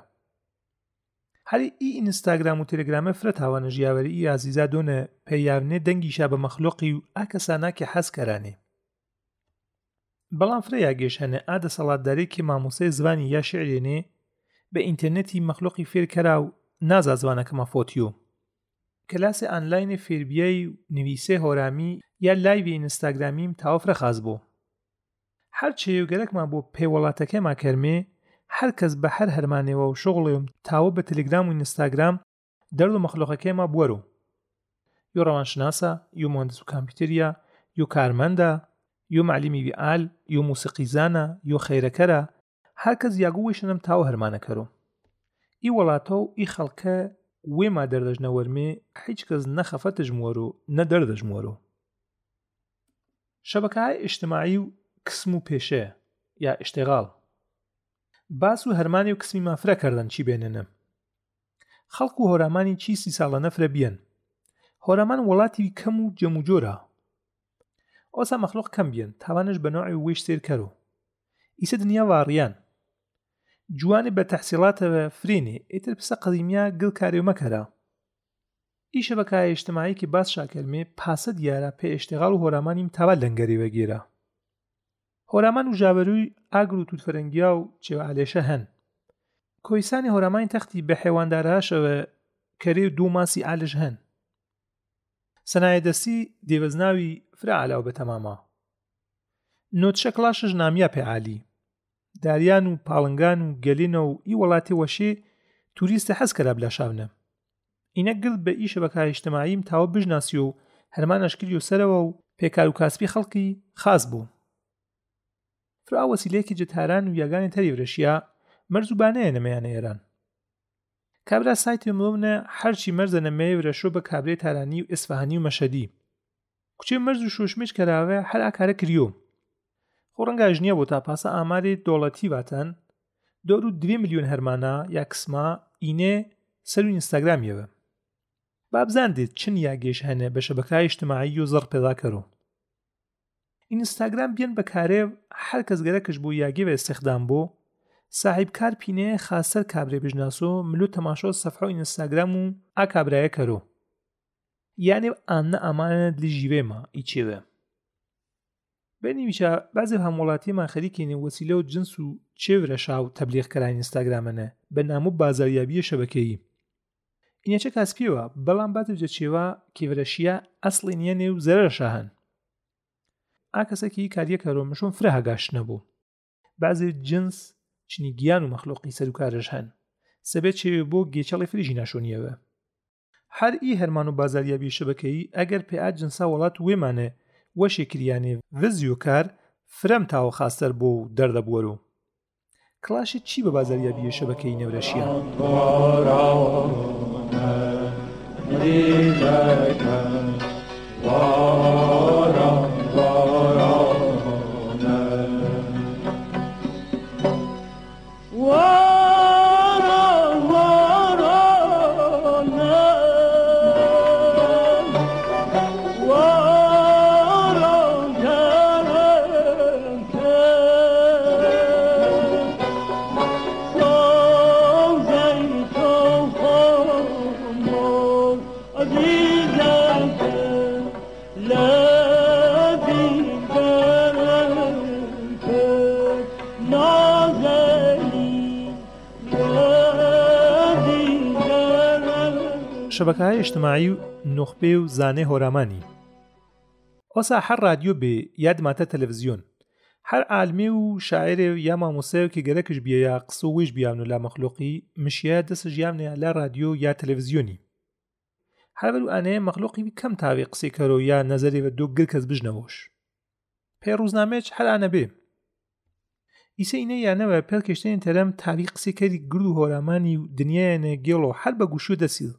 هەری ئی ئینستاگرام و تەلێگرامە فرە تاوانە ژیاوەری ئی عزیزا دۆنە پەیاونێ دەنگیشا بە مەخلوقی و ئا کەساناکە حەز کەرانێ بەڵام فرە یاگەش هەنە ئا دەسەڵاتدارێکی مامۆسەی زوانی یا شعرێنێ بە ئینتەرنێتی مەخلوقی فێر کەرا و نازا زوانەکەمە فۆتیۆ کلاسی ئانلاینی فێربیای و نویسێ هۆرامی یا لایوی ئینستاگرامیم تاوە فرە خاز بوو هەر چێوگەرەکمان بۆ پێوەڵاتەکەما کەرمێ هەر کەس بە هەر هەرمانێەوە و شغڵێم تاوە بە تەلێگرام و ئینستاگرام دەرد و مەخلوقەکەیما بوەرۆ یۆ ڕەوانشناسە یۆ مهندس و کامپیوتەریە یۆ کارمەندە یۆ معلیمی ویئال یۆ موسیقیزانە یۆ خەیرەکەرە هەر کەس یاگوویشنم تاوە هەرمانەکەرۆ ئی وڵاتە و ئی خەڵکە وێما دەردەژنەوەرمێ هیچ کەس نەخەفەتەژموەرۆ نە دەردەژموەرۆ شەبەکەهای ئیجتیماعی و کسم و پێشە یا ئیشتیغاڵ باس و هەرمانی و کسمی مافرە کردن چی بێنێنە خەڵک و هۆرامانی چی سی ساڵە نەفرە بیەن هۆرامان وڵاتی کەم و جەم و جۆرە ئۆسا مەخلوق کەم بیەن تاوانش بە نوعی وێش سێر کەرۆ ئیسە دنیا واڕیان جوانی بە تەحسیڵاتەوە فرێنێ ئێتر پسە قەدیمیا گڵ کارێ مەکەرە ئی شەبەکای ئیجتیماعی کە باس شاکەرمێ پاسە دیارە پێ ئیشتیغاڵ و هۆرامانیم تاوا لەنگەری وەگێرە هۆرامان و ژاوەروی ئاگر و تووتفەرەنگیا و چێوەعالێشە هەن کۆیسانی هۆرامانی تەختی بە حێوانداراشەوە کەرێ و دوو ماسی ئالش هەن سەنایە دەستی دێوەزناوی فرە علاو بە تەمامە نۆتشە کڵاشش نامیا پێ عالی داریان و پاڵنگان و گەلینە و ئی وڵاتی وەشێ توریستە حەز کەرا بلا شاونە ئینە گڵ بە ئی شەبەکای ئیجتیماعیم تاوە بژناسی و هەرمان ئەشکری و سەرەوە و پێکار و کاسبی خەڵکی خاص بوو فرا وەسیلەیەکی جەتاران و یاگانی تەری ورەشیا مەرزوبانەیە نەمەیانە ئێران کابرا سایتی مڵونە هەرچی مەرزە نەمەیە ورەشۆ بە کابرێ تارانی و ئیسفاهانی و مەشەدی کوچێ مەرز و شۆشمێش کەراوە هەر ئاکارە کریۆ خۆ ڕەنگە ژنیە بۆ تا پاسە ئامارێ دۆڵەتی واتەن دۆر و دوێ ملیۆن هەرمانە یا کسما ئینێ سەر و ئینستاگرامیەوە بابزاندێت چن یاگێش هەنە بە شەبەکای ئیجتیماعی و زەڕ پێدا کەرۆ ئینستاگرام بیان بەکارێ هەر کەس گەرەکەش بۆ یاگێ بە استیخدام بۆ صاحب کار پینەیە خاستەر کابرێ بژناسۆ ملو تەماشۆ سەفحە و ئینستاگرام و ئا کابرایە کەرۆ یانێ ئانە ئامانە دلی ژیوێمە ئیچێوە بەنیویچە بەعزێ هەموڵاتیمان خەریکێنێ وەسیلە و جنس و چێورەشا و تەبلیغکەرانی ئینستاگرامەنە بە نام و بازاریابیە شەبەکەیی ئینەچە کاسپیەوە بەڵام باتوجە چێوە کێورەشیە ئەسڵی نیەنێ و زەرەرشە هەن ئاکەسێکی کاریەکەرۆ مشۆم فرە هەگاش نەبوو بەعزێ جنس چنی گیان و مەخلوقی سەر و کارش هەن سەبێت چێوێ بۆ گێچەڵی فریژی ناشۆنیەوە هەر ئی هەرمان و بازاریابی شەبەکەی ئەگەر پێئات جنسا وڵات وێمانێ وەشێکریانێ ڤزیۆکار فرەم تاوە خاستەر بۆ و دەردەبوەرۆ کڵاشی چی بە بازاریابی شەبەکەی نەورەشیە شەبەکەهای ئیجتیماعی و نوخبێ و زانێ هۆرامانی ئۆسا هەر رادیۆ بێ یا دماتە تەلەڤیزیۆن هەر عالمێ و شاعرێ یا مامۆسایەکی گەرەکش بیە یا قسە و وێژ بیاون و لا مەخلوقی مشیە دەسە ژیامنەیە لا رادیۆ یا تەلەڤیزیۆنی هەر بەر و ئانەیە مەخلوقی کەم تاوێ قسەی کەرۆ یا نەزەرێ بە دۆ گر کەس بژنەوەش پێ ڕووزنامێچ هەر ئانە بێ ئیسە ئینە یانەوە پێڵ کێشتێنی تەرەم تاوی قسەی کەری گر و هۆرامانی و دنیایەنە گێڵۆ هەر بە گوشو دەسیل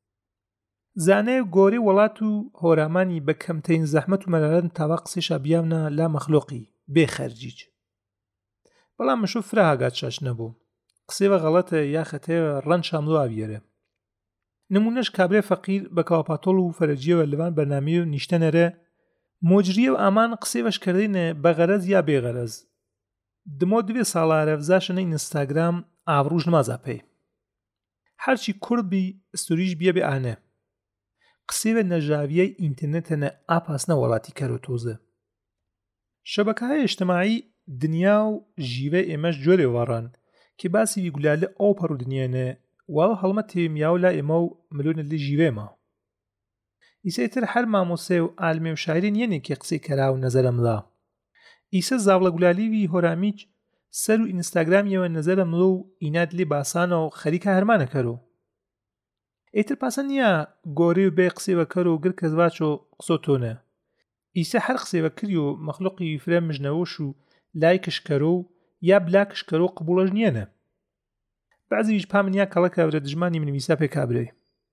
زانەیە گۆرەی وڵات و هۆرامانی بە کەمترین زەحمەت و مەرارەت تاوا قسەیشا بیاونە لا مەخلوقی بێ خەرجیج بەڵام مشۆ فرە هاگات شاش نەبوو قسەی بە غەڵەتە یا خەتەیە ڕەن شاملۆ ئاویێرە نمونەش کابرای فەقیر بە کاوەپاتۆڵ و فەرەجیەوە لەوان بەرنامەی و نیشتەنەرە مۆجریە و ئامان قسەی بەشکردینە بە غەرەز یا بێغەرەز دمۆ دوێ ساڵارە فزاشنە ئینستاگرام ئاڤڕوژ نمازا پێی هەرچی کوربی ئستوریش بیە بێ ئانە قسەی بە نەژاویەی ئینترنێتەنە ئاپاسنە وڵاتی کەرۆتۆزە شەبەکەهای ئیجتیماعی دنیا و ژیوە ئێمەش جۆرێ وەڕان کە باسی ویگولالە ئەو پەڕ و دنیانە واڵە هەڵمە تێمیاو لا ئێمە و ملۆنە لێ ژیوێمە ئیسەیتر هەر مامۆسێ و ئالمێ و شاعرین یەنێکی قسەی کەرا و نەزەرە مڵا ئیسە زاوڵە گولالیوی هۆرامیچ سەر و ئینستاگرامیەوە نەزەرە مڵۆ و ئینات لێ باسانە و خەریکە هەرمانە کەرۆ ئیتر پاسە نییە گۆرەی و بێ قسەی بەکەر و گر کەس باچۆ قسۆ تۆنە ئیسە هەر قسەی بەکردی و مەخلوقی فرە مژنەوەش و لایکش کەرۆ و یا بلاکش کەرۆ قبوڵەش نیەنە بەعزیویش پامنیا کەڵە کابرە دژمانی منویسا پێ کابرەی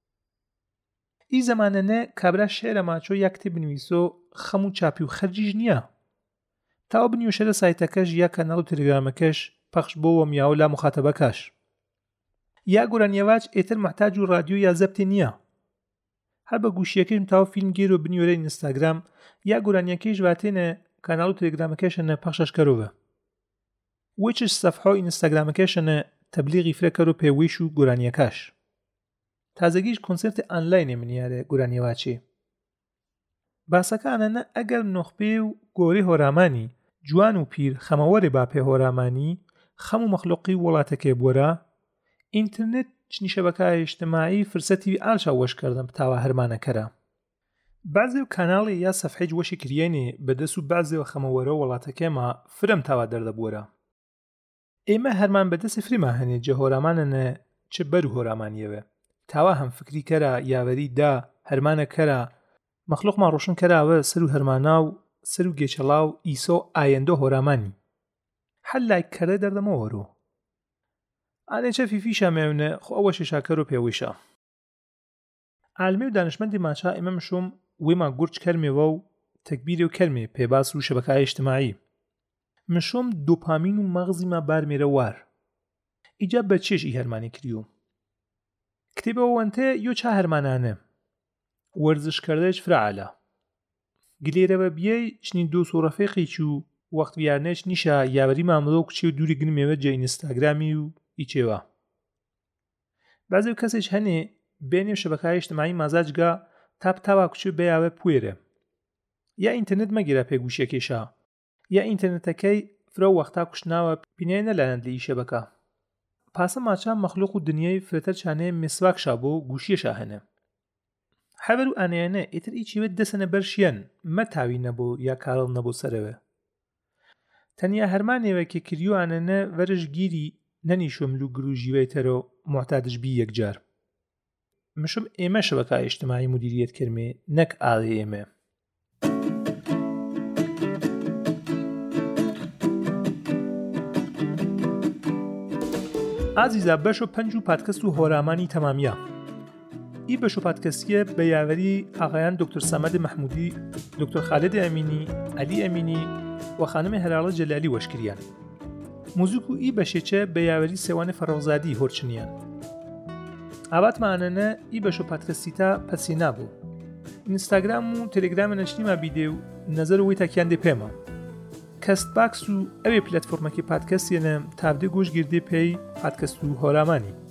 ئی زەمانەنە کابرا شێرە ماچۆ یا کتێب بنویسۆ خەم و چاپی و خەرجیش نییە تاوە بنیوشەرە سایتەکەش یا کەناڵ و تەلەگرامەکەش پەخش بۆوە میاو لا مخاتەبەکەش یا گۆرانیەواج ئێتر محتاج و رادیۆ یا زەبتێ نییە هەر بە گوشیەکەشم تاوە فیلم گێرۆ بنیۆرە ئینستاگرام یا گۆرانیەکەیش واتێنە کەناڵ و تەلەگرامەکەشەنە پەخشەش کەرۆڤە وچش سەفحە و ئینستاگرامەکەشەنە تەبلیغی فرە کەرۆ پێویش و گۆرانیەکەش تازەگیش کۆنسرتی ئانلاینێ منیارە گۆرانیەواچێ باسەکانەنە ئەگەر نۆخبێ و گۆرەی هۆرامانی جوان و پیر خەمەوەرێ با پێ هۆرامانی خەم و مەخلوقی وڵاتەکێ بوەرە ئینترنێت چنی شەبەکەهای ئیجتیماعی فرسەتی ئالشا وەشکردن بتاوە هەرمانەکەرە بعضێ و کاناڵی یا سەفحەی وەشی کریێنێ بەدەست و بعضێوە خەمەوەرە وڵاتەکێمە فرم تاوا دەردەبوەرە ئێمە هەرمان بەدەستی فریما هەنێ جە هۆرامانەنە چ بەر و هۆرامانیەوە تاوا هەم فکری کەرە یاوەری دا هەرمانە کەرە مەخلوقمان ڕۆشن کەراوە سەر و هەرمانا و سەر و گێچەڵا و ئیسۆ ئایەندۆ هۆرامانی هەر لایک کەرە دەردەمەوەرۆ ئانێچە فیفیشە مێونە خۆ ئەوە شێشاکەر و پێویشە عالمی و دانشمەندی ماچا ئێمە مشۆم وێما گورچ کەرمێوە و تەکبیرێ و کەرمێ پێباس و شەبەکەهای ئیجتیماعی مشۆم دوپامین و مەغزیما بارمێرە وار ئیجا بە چێش ئی هەرمانی کریۆ کتێبەوەنتە یۆ چا هەرمانانە وەرزشکردەش فرعالا گلێرەوە بیەی چنین دۆس و ڕەفێقێکی و وەخت بیارنێش نیشە یاوەری مامڵۆ و کچێ و دووری گنمێوە جە ئینستاگرامی و ئیچێوە بەعزێ و کەسێک هەنێ بێنێ شەبەکەهای ئیجتیماعی مازاجگا تاپ تاوا کچێ بەیاوە پوێرە یا ئینترنێت مەگیرە پێگوشیەکێشە یا ئینترنێتەکەی فرە وەختا کوشتناوە پینای نەلایەند لە ئی شەبەکە پاسە ماچا مەخلوق و دنیای فرەتەر چانەیە مسواکشا بۆ گوشیەشە هەنە حەبەر و ئانەیانە ئیتر ئیچیوێت دەسەنە بەرشیان مە تاوی نەبوو یا کاڵ نەبوو سەرەوە تەنیا هەرمانێوەکە کریوانەنە ڤەرش گیری نەنیشۆم لو گروژیوەیتەرۆ معتادش بی یەکجار مشم ئێمە شەبەکە ئیجتیماعی مدیریەت کردمێ نەک ئاڵێ ئێمە ئازیزا بەش و پەنج و پادکەست و هۆرامانی تەمامیە ئی بەش و پادکەستیە بە یاوەری ئاغایان دکتۆر سەمەد مەحمودی دکتۆر خالد ئەمینی عەلی ئەمینی و خانم هەلاڵە جەلالی وەشکریان موزیک و ئی بەشێچە بە یاوەری سێوانە فەڕۆزادی هۆرچنیان ئاباتمانەنە ئی بەش و پادکەستیتا پەسینا بوو ئینستاگرام و تەلێگرامە نەشتیما بیدێ و نەزەر وی تاکیان دێ پێمە کەست باکس و ئەوێ پلەتفۆرمەکی پادکەستێنە تابدێ گۆش گردێ پێی پادکەست و هۆرامانی